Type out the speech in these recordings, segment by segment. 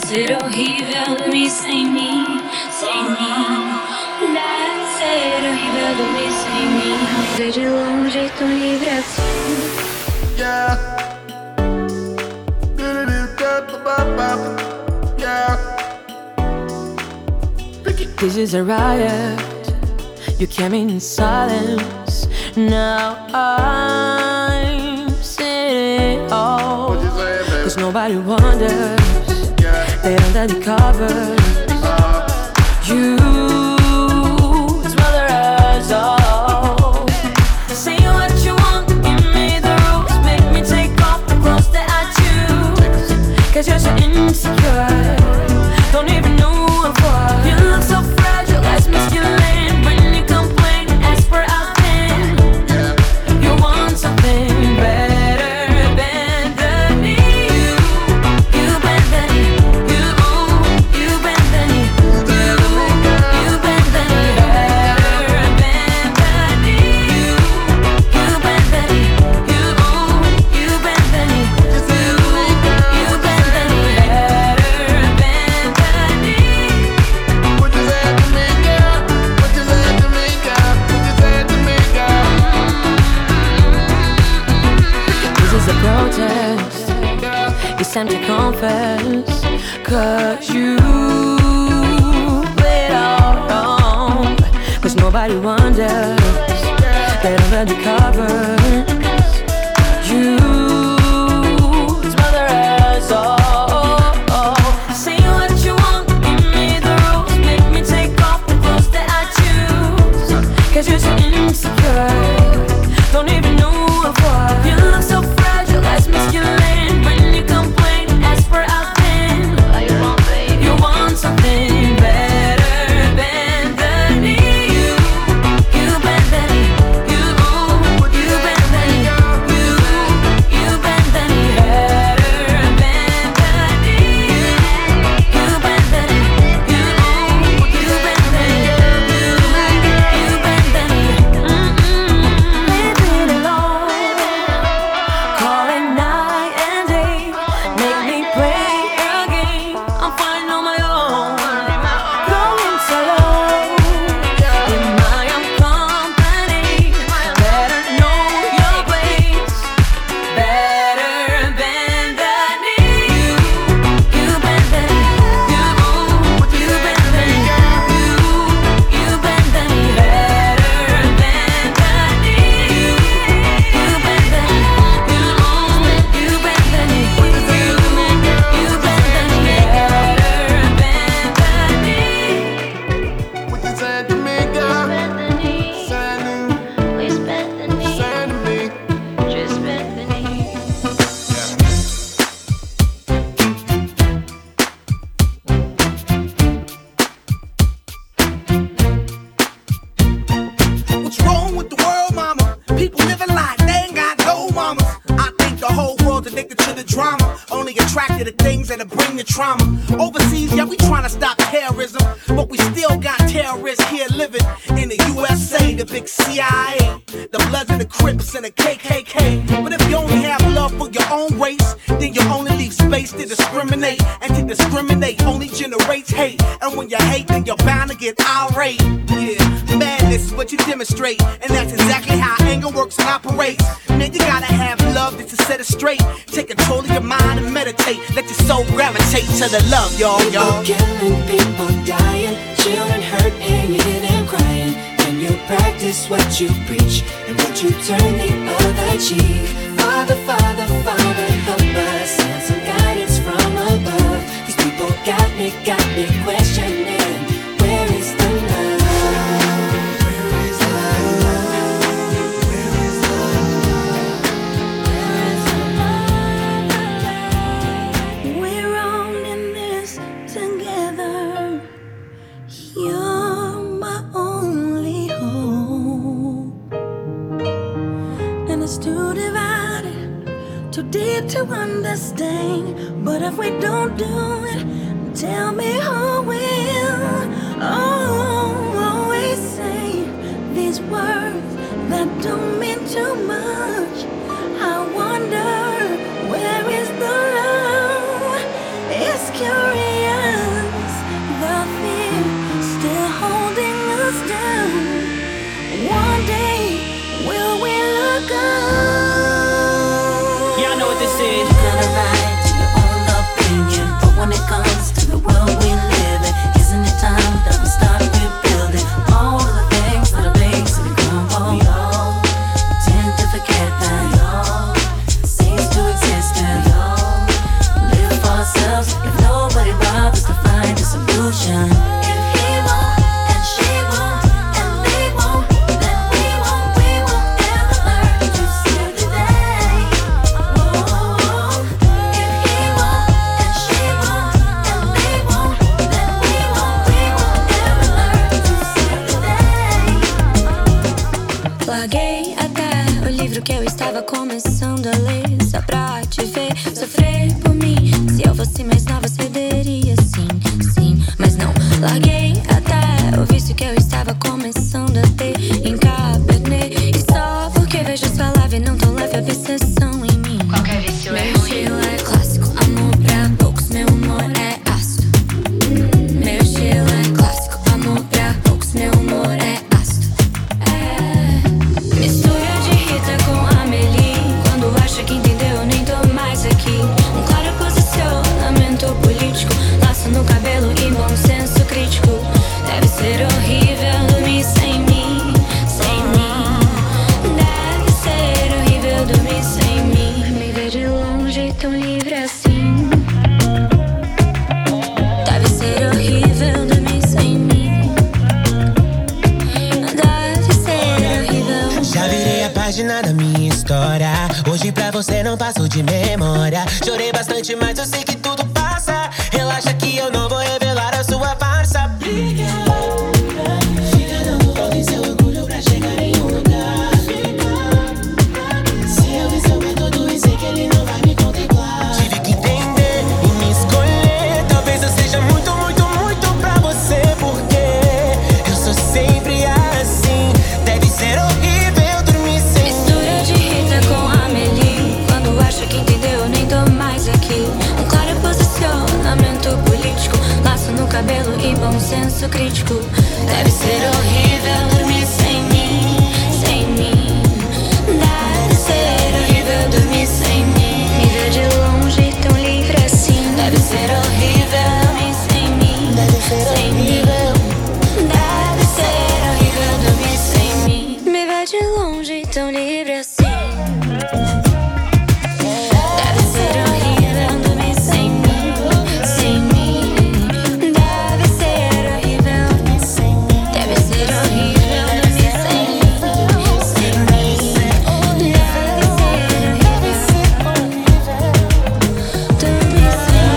ser horrível dormir sem mim, sem mim. Deve ser horrível dormir sem mim. Ver de longe tão livre assim. Yeah. Yeah. This is a riot. You came in silence. Now I'm seeing it all. What you saying, baby? Cause nobody wonders. Yeah. They under the covers. You smell the rise all. Say what you want, give me the rules. Make me take off the clothes that I choose. Cause you're so insecure. Don't even know what for. You look so fragile, as masculine. When you complain, ask for I've been. You want something better than me. You better than me. You better than me. You better than me. Better than me. You better than me. You better than me. You better than me. Better than me. What you saying to me, girl? What you saying to me, girl? What you saying to me, girl? This is a protest. It's time to confess. Cause you played all wrong. Cause nobody wonders. Get under the covers. You smell the rise all. Say what you want, give me the rules. Make me take off the clothes that I choose. Cause you're so insecure. Don't even know what for. You look so fragile, as masculine. When you complain, ask for I've been. You want something better than me. You better than me. You better than me. You better than me. Better than me. You better than me. You better than me. You better than me. Leave it alone. Calling night and day. Make me play a game. I'm fine on my own. Going solo. In my own company. Better know your place. Better than me. You better than me. You better than me. You better than me. Better than me. You better than me. You better than me. You better than me. Better than me. What you saying to me, girl? Saying to me. What's wrong with the world, mama? People living like they ain't got no mamas. I think the whole world's addicted to the drama, only attracted to things that'll bring the trauma. Overseas, yeah, we trying to stop terrorism, but we still got terrorists here living in the USA, the big CIA, the Bloods and the Crips and the KKK. But if you only have love for your own race, then you only leave space to discriminate, and to discriminate only generates hate. And when you hate, then you're bound to get irate. Yeah, madness is what you demonstrate, and that's exactly how anger works and operates. Man, you gotta have love just to set it straight. Take control of your mind and meditate. Let your soul gravitate to the love, y'all. People killing, people dying, children hurt and you hear them crying. When you practice what you preach and what you turn the other cheek. Father, Father, Father, help us, send some guidance from above. These people got me questioning, where is the love? Where is the love? Where is the love? Where is the love? We're all in this together. You're my only hope, and it's too divided, too deep to understand. But if we don't do it, tell me who will. Oh, always say these words that don't mean too much. I wonder, where is the love? It's curious. te ver sofrer por mim. Se eu fosse mais nova, cederia sim, sim. Mas não, larguei até o vício que eu estava começando a ter em Cabernet. E só porque vejo sua live, não tão leve a obsessão em mim. Qualquer vício é Meu ruim. estilo é clássico, amor pra poucos, meu humor é ácido. Meu estilo é clássico, amor pra poucos, meu humor é ácido. Mistura de Rita com Amelie. Quando acha que entendeu, nem tô mais aqui. Um claro posicionamento político, laço no cabelo e bom senso crítico. Deve ser horrível dormir sem mim, sem mim. Deve ser horrível dormir sem mim. Me ver de longe tão livre assim. Deve ser horrível dormir sem mim. Deve ser horrível. Já virei a página da minha história. Hoje pra você não passou de memória. Chorei bastante, mas eu sei que tudo passa. Relaxa que eu não vou revelar a sua farsa. Fica dando volta em seu orgulho pra chegar em um lugar. Se eu vi seu método e sei que ele não vai me contemplar. Tive que entender e me escolher. Talvez eu seja muito, muito, muito pra você. Porque eu sou sempre assim. Deve ser horrível dormir sem mim. Mistura de Rita com Amelie. Quando acha que entendeu, nem tô mais aqui. Um claro posicionamento político, laço no cabelo e bom senso crítico. Deve ser horrível dormir sem mim, sem mim. Deve ser horrível dormir sem mim. Me ver de longe tão livre assim. Deve ser horrível dormir sem mim, sem mim. Deve ser horrível dormir sem mim. Me ver de longe tão livre assim. Deve ser horrível dormir sem mim, sem mim. Deve ser horrível. Deve ser horrível dormir sem mim, sem mim. Deve ser horrível dormir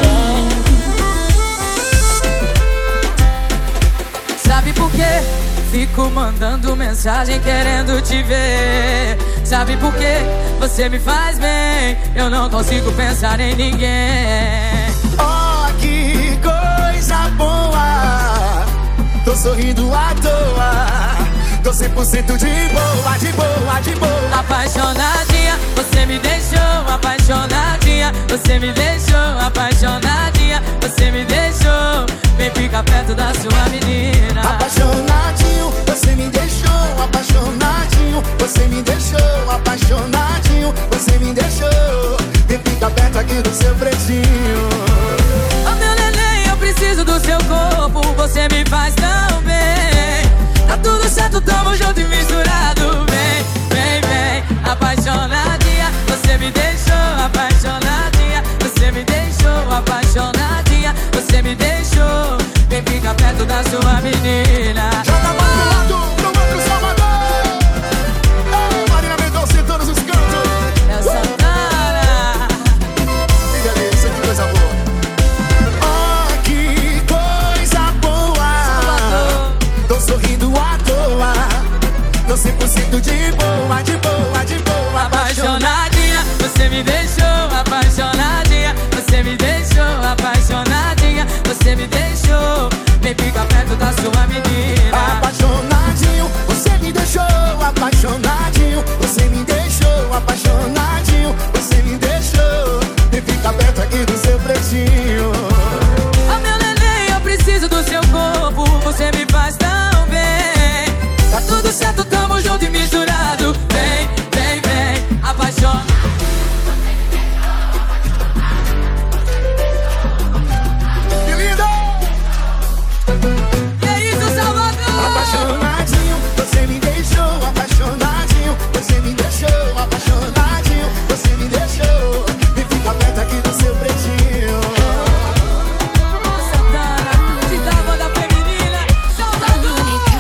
sem mim. Sabe por quê? Fico mandando mensagem querendo te ver. Sabe por quê? Você me faz bem. Eu não consigo pensar em ninguém. Oh, que coisa boa. Tô sorrindo à toa. Tô 100% de boa, de boa, de boa. Apaixonadinha, você me deixou. Apaixonadinha, você me deixou. Apaixonadinha, você me deixou. Vem ficar perto da sua menina. Apaixonadinho, você me deixou. Apaixonadinho, você me deixou. Apaixonadinho, você me deixou. Vem ficar perto aqui do seu pretinho. Oh, meu neném, eu preciso do seu corpo. Você me faz tão bem. Tá tudo certo, tamo junto e misturado. Vem, vem, vem. Apaixonadinha, você me deixou. Apaixonadinha, você me deixou. Apaixonadinha, você me deixou. Vem ficar perto da sua menina. Joga mais pro lado, pro outro Salvador. Marina Mendonça em todos os cantos. É Santana. Que delícia, que coisa boa. Oh, que coisa boa. Tô sorrindo à toa. Tô 100% de boa, de boa, de boa. Apaixonadinha, você me deixou. Apaixonadinha, você me deixou. Apaixonadinha, você me deixou. Vem ficar perto da sua menina. Apaixonadinho, você me deixou. Apaixonadinho, você me deixou. Apaixonadinho, você me deixou. E fica perto aqui do seu pretinho. Oh, meu neném, eu preciso do seu corpo. Você me faz tão bem. Tá tudo certo, tamo junto e misturado. Vem, vem, vem. Apaixonado. Que lindo! E é isso, Salvador. Apaixonadinho, você me deixou. Apaixonadinho, você me deixou. Apaixonadinho, você me deixou. E fica perto aqui do seu pretinho. Santana, de da banda feminina. Salvador.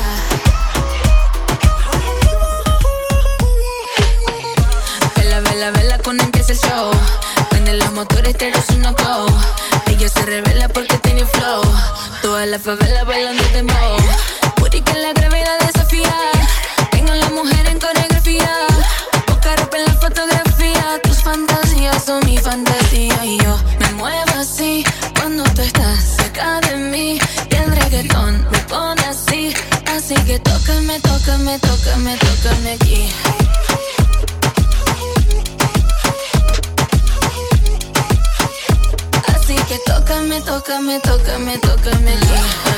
Vela, vela, vela cuando empieza el show. Prende los motores, te un go. Ella se revela porque tiene flow. Toda la favela bailando dembow. Puri que la gravedad desafía. Tengo a la mujer en coreografía. Poca ropa en la fotografía. Tus fans fantasías son mi fantasía y yo me muevo así cuando tú estás cerca de mí. Y el reggaetón me pone así, así que tócame, tócame, tócame, tócame aquí. Así que tócame, tócame, tócame, tócame aquí.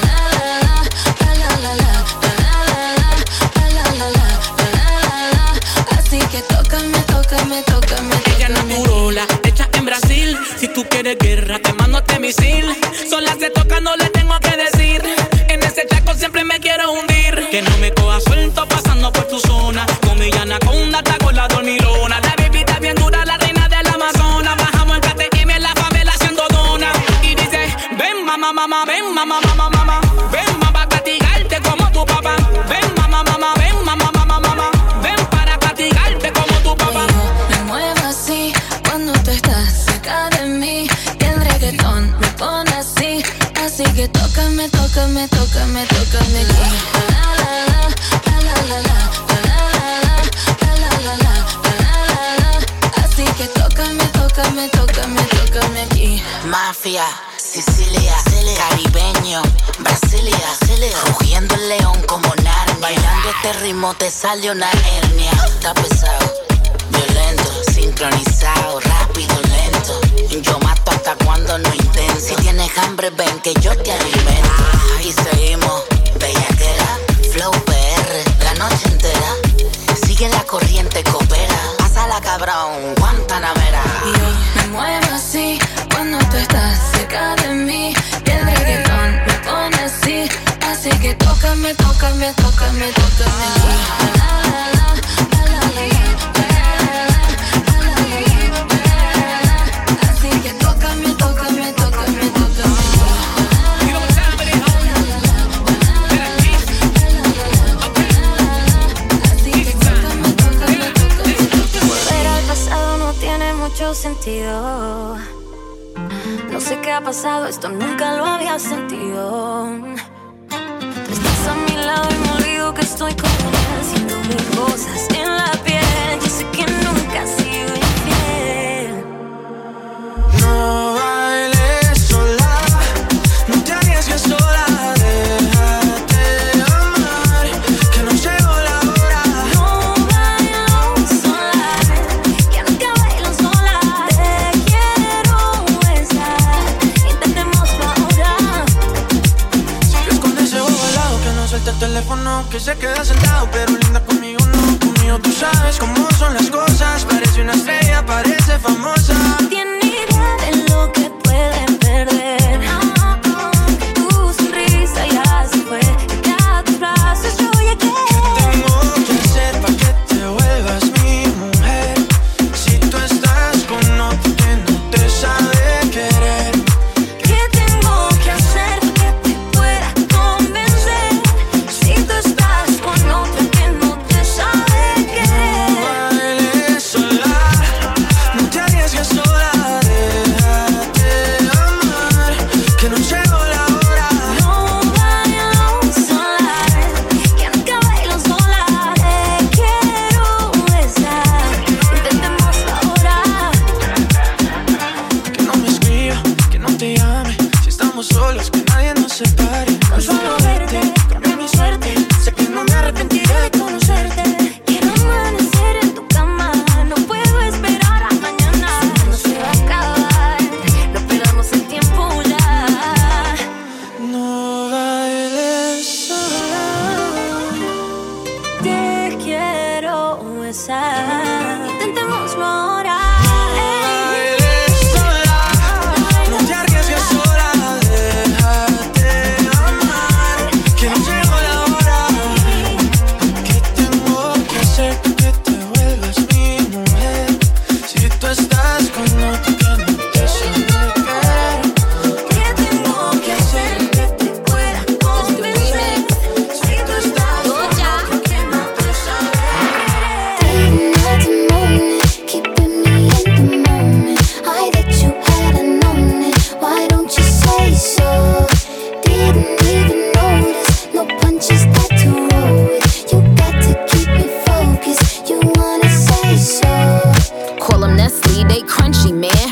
Así que tócame, tócame, tócame. Ella naturola, hecha en Brasil. Si tú quieres guerra, te mando este misil. Sola se toca, no le tengo que decir. En ese chaco siempre me quiero hundir. Que no me coja suelto pasando por tu zona. Con mi anaconda, está con la dormilona. La bebida bien dura, la reina del Amazonas. Bajamos en KTM en la favela haciendo dona. Y dice, ven mamá, mamá, ven mamá, mamá, mamá. Ven mamá, castigarte como tu papá. Ven mamá, mamá, ven mamá, mamá, mamá. Ven para castigarte como tu papá. Yo me muevo así cuando tú estás cerca de mí. Y el reggaetón me pone así, así que tócame, tócame, tócame, tócame aquí. Así que tócame, tócame, tócame, tócame aquí. Mafia, Sicilia, caribeño, Brasilia, rugiendo el león como Narnia. Bailando este ritmo te sale una hernia. Está pesado, violento, sincronizado, rápido, lento. Yo mato hasta cuando no intento. Si tienes hambre ven que yo te alimento. Y seguimos, bellaquera, flow PR, la noche entera. Sigue la corriente, coopera. Pásala cabrón, Guantanamera. Y yo me muevo así cuando tú estás cerca de mí. Y el reggaetón me pone así, así que tócame, tócame, tócame, tócame aquí. Así que tócame, tócame, tócame, tócame aquí. Volver al pasado no tiene mucho sentido. No sé qué ha pasado, esto nunca lo había sentido. Tú estás a mi lado y me olvido que estoy con él, haciendo mil cosas en la piel. Yo sé que nunca he sido infiel. No bailes sola, no te arriesgues sola. Déjate amar, que no llegó la hora. No bailo sola, que nunca bailo sola. Te quiero besar, intentémoslo ahora. Sigue con ese ojo al lado, que no suelta el teléfono, que se queda sentado, pero linda conmigo no. Conmigo tú sabes cómo son las cosas. Parece una estrella, parece famosa. Tiene idea de lo que pueden perder. Tu sonrisa ya se fue, y a tus brazos yo llegué. ¿Qué tengo que hacer para que te vuelvas mi mujer? Si tú estás con otro que no te sabe querer. ¿Qué tengo que hacer para que te pueda convencer? Si tú estás con otro que no te sabe querer. No bailes sola, no te arriesgues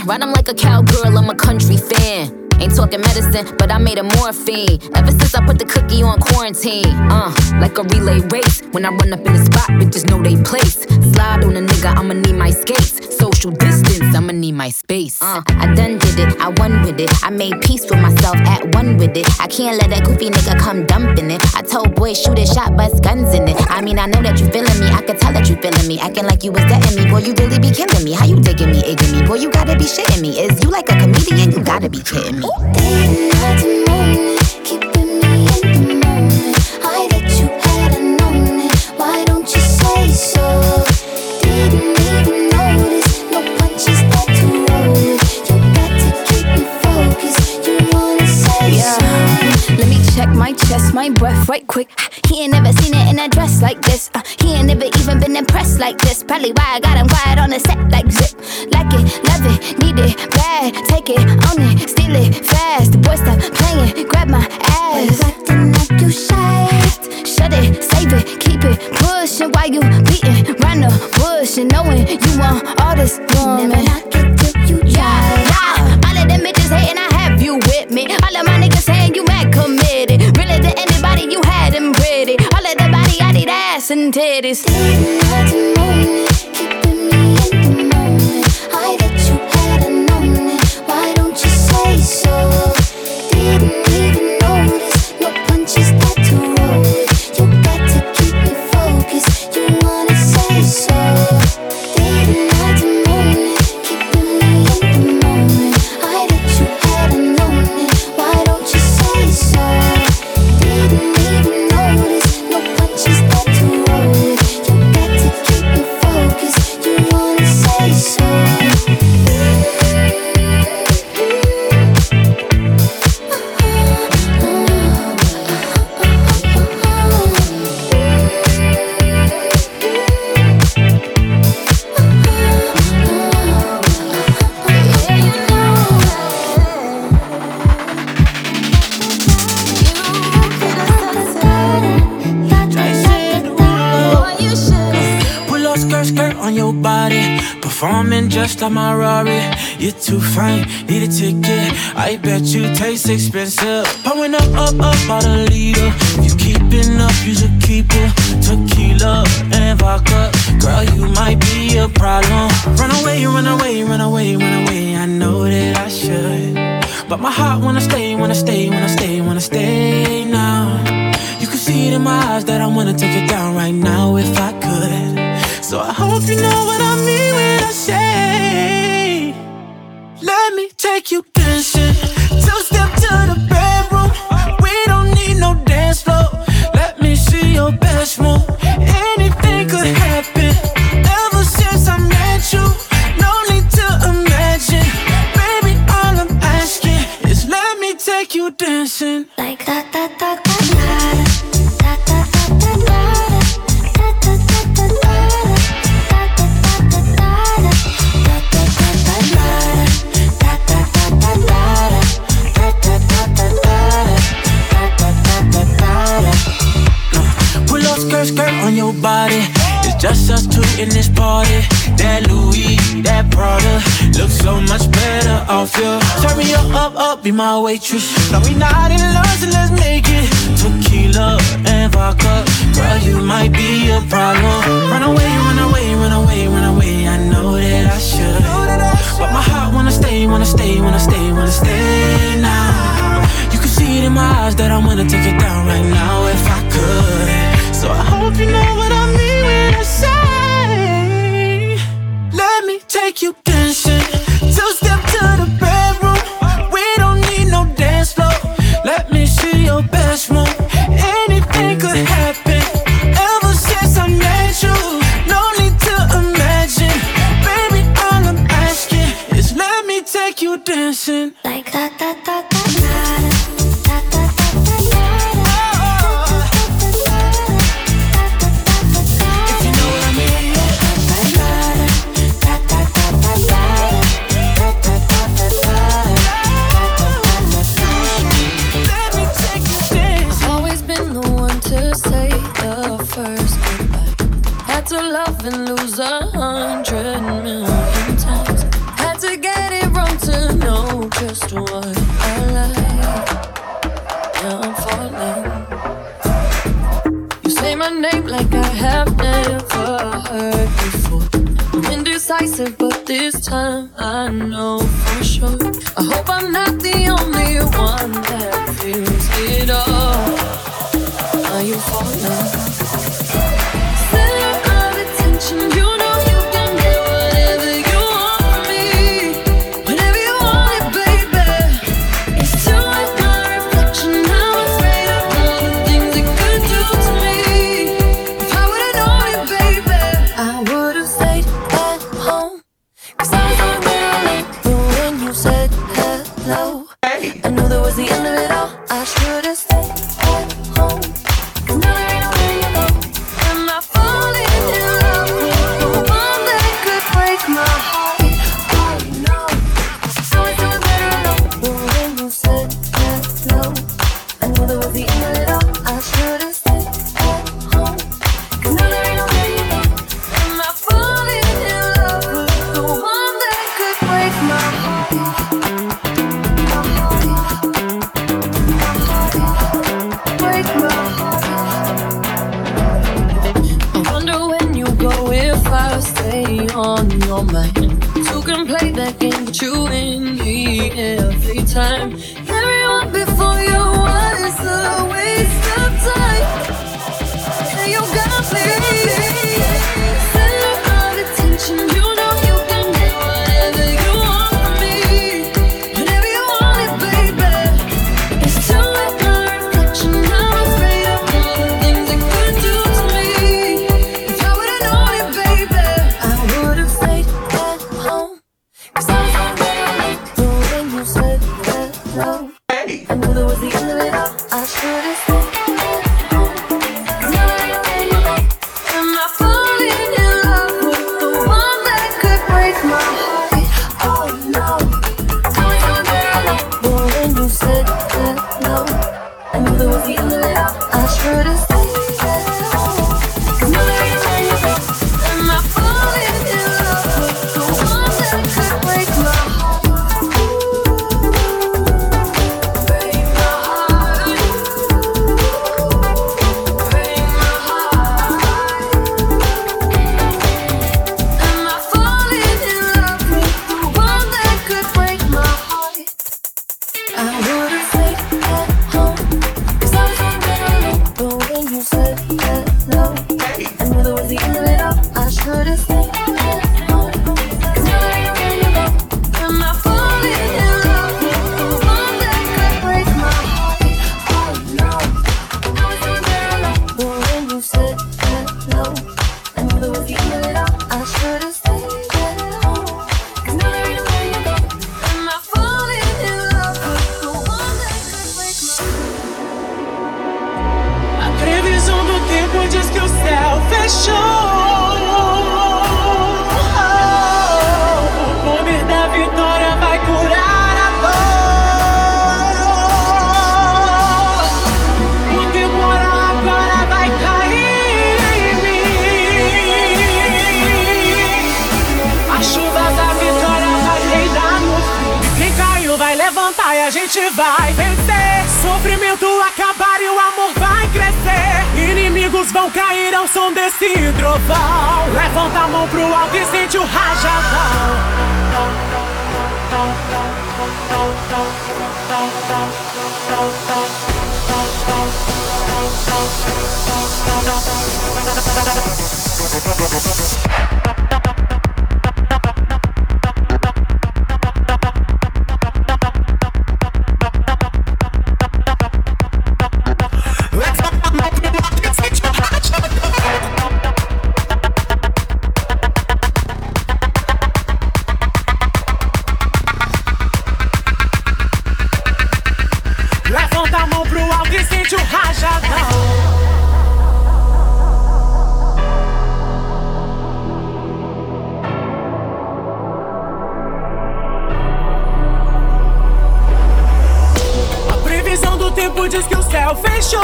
Ride 'em like a cowgirl, I'm a country fan. Ain't talking medicine, but I made a morphine. Ever since I put the cookie on quarantine. Like a relay race. When I run up in the spot, bitches know they place. Slide on a nigga, I'ma need my skates. Social distance, I'ma need my space. I done did it, I won with it. I made peace with myself, at one with it. I can't let that goofy nigga come dumping it. I told boys, shoot a shot, bust guns in it. I mean, I know that you feeling me, I could tell that you feeling me. Acting like you was dating me, boy, you really be killing me. How you digging me, egging me? Boy, you gotta be shitting me. Is you like a comedian? You gotta be kidding me. Day and night and morning, keeping me in the moment. I that you hadn't known it. Why don't you say so? Didn't even notice. No punches that to roll with. You got to keep me focused. You wanna say so? Let me check my chest, my breath right quick. He ain't never seen it in a dress like this. He ain't never even been impressed like this. Probably why I got him quiet on the set like zip. Like it, love it, need it, bad. Take it, own it, steal it, fast. The boy stop playing, grab my ass. Why you acting like you shy? Shut it, save it, keep it pushing. While you beating round the bush and knowing you want all this woman. Never knock it till you try. All of them bitches hating, I have you with me. All of my niggas saying you mad committed. Really to anybody, you had them pretty. All of the body, I need ass and titties. Day and night and morning, keeping me in the moment. I that you hadn't known it. Why don't you say so? Didn't even notice. No punches that to roll with. You got to keep me focused. You wanna say so? Day and night and morning, keeping me in the moment. I that you hadn't known it. Why don't you say so? Didn't even notice. No punches that to roll with. You got to keep me focused. You wanna say so? Pull up skirt, skirt on your body. Performing just like my Rari. You're too fine, need a ticket. I bet you taste expensive. Pouring up, about a liter. If you keeping up, you should keep it. Tequila and vodka. Girl, you might be a problem. Run away, run away, run away, run away. I know that I should, but my heart wanna stay, wanna stay, wanna stay, wanna stay now. You can see it in my eyes that I wanna take it down right now if I could. So I hope you know what I mean when I say, let me take you dancing. Two-step to the bedroom. We don't need no dance floor. Let me see your best move. Anything could happen. Ever since I met you, no need to imagine. Baby, all I'm asking is let me take you dancing. Like da da da da da da da da da Pull up skirt, skirt on your body. It's just us two in this party. That Louis, that Prada looks so much better off you. Turn me up, be my waitress. No, we not in love, so let's make it. Tequila and vodka. Girl, you might be a problem. Run away, run away, run away, run away. I know that I should, but my heart wanna stay, wanna stay, wanna stay, wanna stay now. You can see it in my eyes that I wanna take it down right now if I could. So I hope you know what I mean when I say, let me take you dancing. Two-step to the bedroom. We don't need no dance floor. Let me see your best move. Anything could happen. Ever since I met you, no need to imagine. Baby, all I'm asking is let me take you dancing. like da da da da da da da. To love and lose 100 million times. Had to get it wrong know just what I like. Now I'm falling. You say my name like I have never heard before. I'm indecisive, but this time I know for sure. I hope I'm not the only one that feels it all. Are you falling? Center of attention, you know you can get whatever you want from me. Whenever you want it, baby. It's too much my reflection. I'm afraid of all the things it could do to me. If I would've known it, baby, I would've stayed at home. 'Cause I was on my own. But when you said hello, I knew that was the end of it all. I should've stayed at home. 'Cause now there ain't nowhere you go. Am I falling in love with the one that could break my heart? Oh no, I was doing better alone. But when you said hello, I knew that was the end of it all. I should've stayed at home. 'Cause now there ain't nowhere you go. Am I falling in love with the one that could break my heart? Break my heart. I wonder when you go if I stay on your mind. You can play that game, but you win me every time. Everyone before you was a waste of time. And you got me. Center of attention, you know you can get whatever you want from me. Whenever you want it, baby. It's too much my reflection. I'm afraid of all the things it could do to me. If I would've known it, baby, I would've stayed at home. 'Cause I was on my own. But when you said hello, I knew that was the end of it all. I should've stayed at home. 'Cause now there ain't nowhere you go. Am I falling in love with the one that could break my heart? Oh no, I was doing better alone. But when you said hello, I knew that was the end of it all. I should've stayed at home. 'Cause now there ain't nowhere you go. Am I falling in love with the one that could break my heart? Break my heart. Break my heart. Am I falling in love with the one that could break my heart? I would've stayed at home. 'Cause I was on better alone. But when you said hello, I knew that was the end of it all. I should've stayed at home. 'Cause now there ain't nowhere you go. Am I falling in love with the one that could break my heart? Oh no, I was doing better alone. But when you said hello, I knew that was the end of it all. I should've stayed at home. 'Cause now there ain't nowhere you go. Am I falling in love with the one that could break my heart? A previsão do tempo diz que o céu fechou. O poder da vitória vai curar a dor. O temporal agora vai cair em mim. A chuva da vitória vai reinar no fim. Quem caiu vai levantar e a gente vai vencer. Sofrimento acabar e o amor vai crescer. Inimigos vão cair ao som desse trovão. Levanta a mão pro alto e sente o rajadão. Levanta a mão pro alto e sente o rajadão. A previsão do tempo diz que o céu fechou.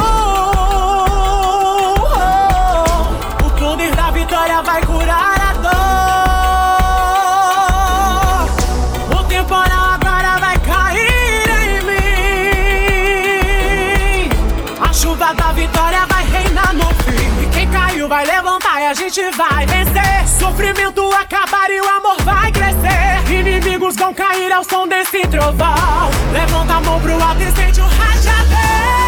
O poder da vitória vai curar a dor. O temporal agora vai cair. gente vai vencer. Sofrimento acabar e o amor vai crescer. Inimigos vão cair ao som desse trovão. Levanta a mão pro alto e sente o rajadão.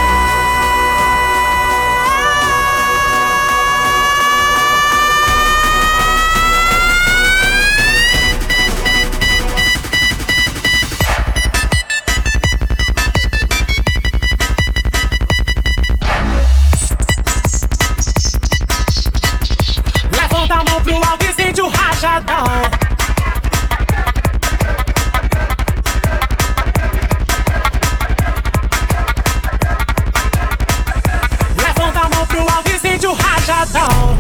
Levanta a mão pro alto e sente o rajadão. Levanta a mão pro alto e sente o rajadão.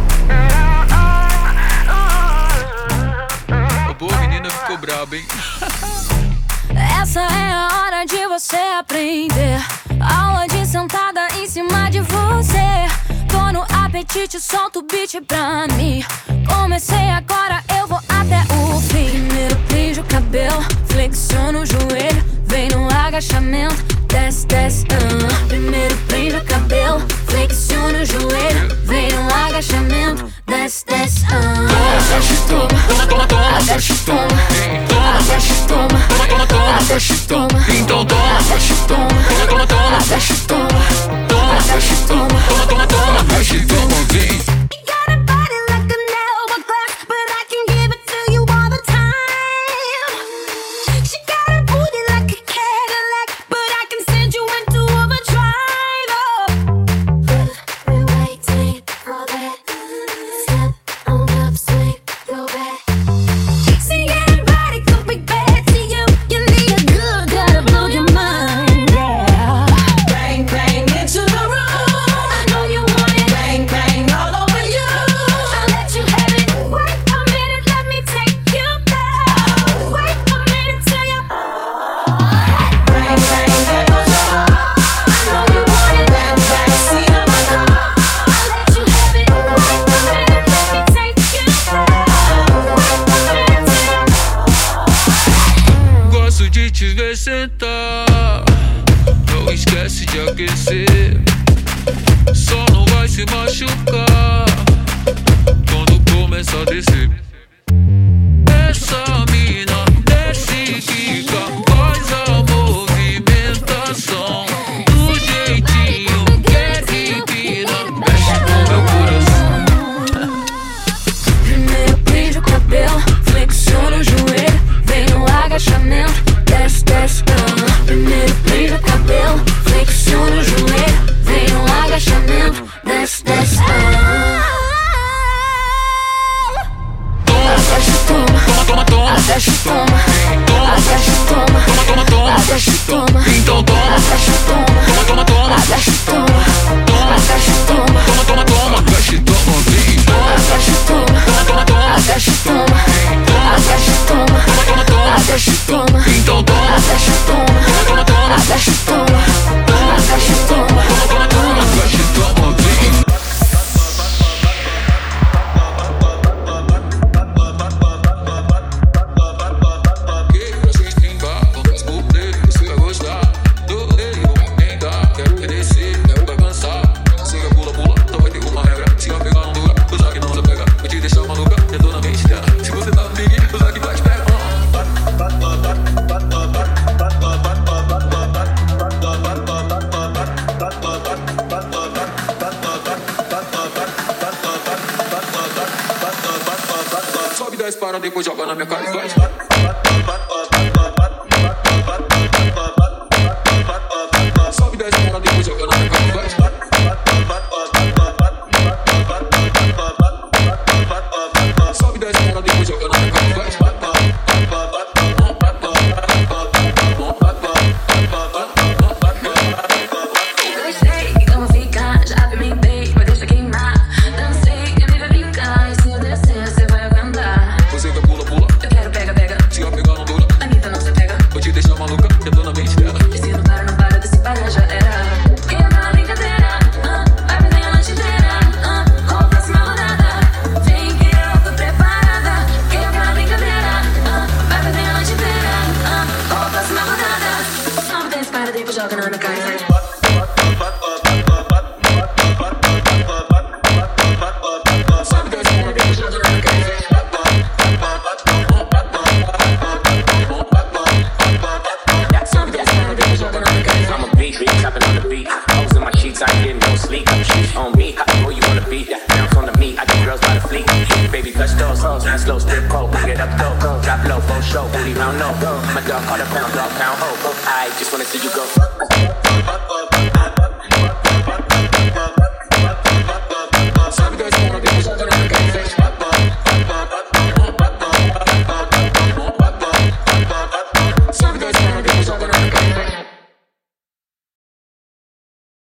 Boa, menina ficou braba, hein? Essa é a hora de você aprender. Aula de sentada em cima de você. Tô no apetite, solta o beat pra mim. Comecei agora, eu vou até o fim. Primeiro prende o cabelo, flexiona o joelho, vem no agachamento, desce, desce. Primeiro prende o cabelo, flexiona o joelho, vem no agachamento, desce, desce. Desce, toma, Toma, toma, desce, toma, desce, toma, toma, toma, desce, toma, então toma, desce, toma, toma, toma, desce, toma, toma, desce, toma, toma, toma, desce, toma, vem. You got a body like an hourglass, but I can give it to you all the time. She got a booty like a Cadillac, but I can send you into overdrive. Oh, we're waiting for that. Step on up, swing your back. See, anybody could be bad to you. You need a good guy to blow your mind. Yeah. Bang, bang into the room. I know you want it. Bang, bang all over you. I'll let you have it. Wait a minute, let me take you down. Wait a minute till you. Bang, bang, there goes your heart. I know you want it. Bang, bang, see on my car. I'll let you have it. Wait a minute, let me take you down. Wait a minute till you. Gosto de te ver sentar. Não esquece de aquecer. Só não vai se machucar quando começa a descer. Essa mina desce e fica, faz a movimentação do jeitinho que é divina. Mexe com meu coração. Primeiro prende o cabelo, flexiona o joelho, vem no agachamento, desce, desce. Primeiro prende o cabelo, flexiona o joelho, vem no agachamento, desce, desce. Toma, toma, toma, Desce, toma, toma, desce, toma, toma, toma, desce, toma, então toma, desce, toma, toma, toma, desce, toma, toma, desce, toma, toma, toma, desce, toma, vem, desce, toma, toma, toma, desce, toma, desce, toma, toma, toma, desce, toma, então toma, desce, toma, toma, toma, desce, toma, desce, toma, toma, toma, desce, toma, vem. Sobe 10 para depois joga na minha cara e vai. Sobe 10 para depois joga na minha cara e vai. Sobe 10 para depois joga na minha cara e vai. Como ficar, já vi me bem, mas deixa queimar. Dancei, eu me vai brincar. E se eu descer, você vai aguentar. Você quer pula, pula. Eu quero pega, pega. Se eu pegar não dura. Anitta não se pega. Vou te deixar maluca, eu tô na mente dela. E se não para, não para, desse para já era. Quem tá na brincadeira, vai perder a noite inteira. Qual a próxima rodada? Vem que eu tô preparada. Quem tá na brincadeira, vai perder a noite inteira. Qual a próxima rodada? Sobe, desce, para, depois joga na minha cara e vai. Sobe 10 para slow, strip pole, bring it up, go. Drop low, full show, booty round low. My dog call a pound, dog pound, oh. I just wanna see you go.